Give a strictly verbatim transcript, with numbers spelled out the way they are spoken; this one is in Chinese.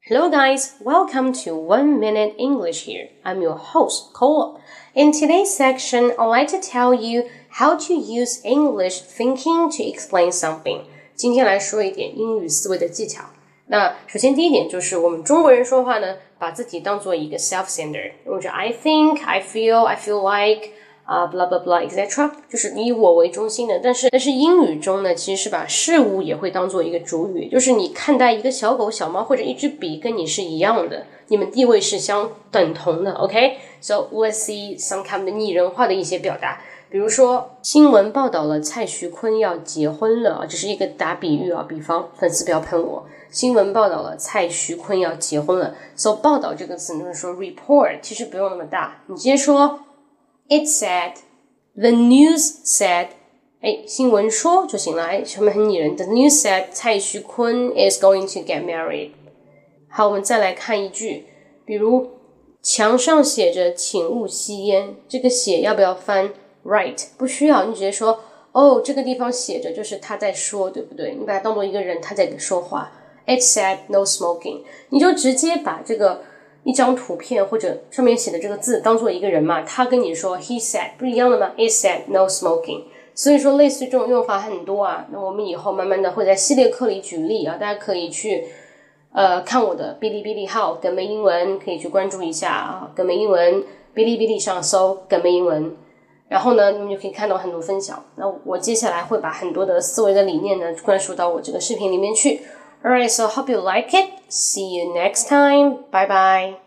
Hello guys, welcome to One Minute English here. I'm your host, Cole. In today's section, I'd like to tell you how to use English thinking to explain something. 今天来说一点英语思维的技巧。那首先第一点就是我们中国人说话呢，把自己当做一个 self-centered， 或者 I think, I feel, I feel like, 啊、uh, blah blah blah, et cetera 就是以我为中心的。但是但是英语中呢，其实是把事物也会当做一个主语，就是你看待一个小狗、小猫或者一支笔跟你是一样的，你们地位是相等同的 OK? So let's see some kind of 拟人化的一些表达。比如说新闻报道了蔡徐坤要结婚了，这是一个打比喻啊，比方粉丝不要喷我。新闻报道了蔡徐坤要结婚了 So 报道这个词就是说 report 其实不用那么大，你直接说 It said, the news said 哎，新闻说就行了，哎，前面很拟人。The news said 蔡徐坤 is going to get married。 好，我们再来看一句，比如墙上写着请勿吸烟，这个写要不要翻 right？ 不需要，你直接说哦，这个地方写着就是他在说，对不对？你把它当做一个人，他在说话。It said no smoking， 你就直接把这个一张图片或者上面写的这个字当做一个人嘛，他跟你说 he said 不是一样的吗？ It said no smoking。 所以说类似这种用法很多啊，那我们以后慢慢的会在系列课里举例啊，大家可以去呃看我的哔哩哔哩号梗美英文，可以去关注一下啊，梗美英文哔哩哔哩上搜梗美英文，然后呢你们就可以看到很多分享。那我接下来会把很多的思维的理念呢灌输到我这个视频里面去。Alright, so hope you like it. See you next time. Bye bye.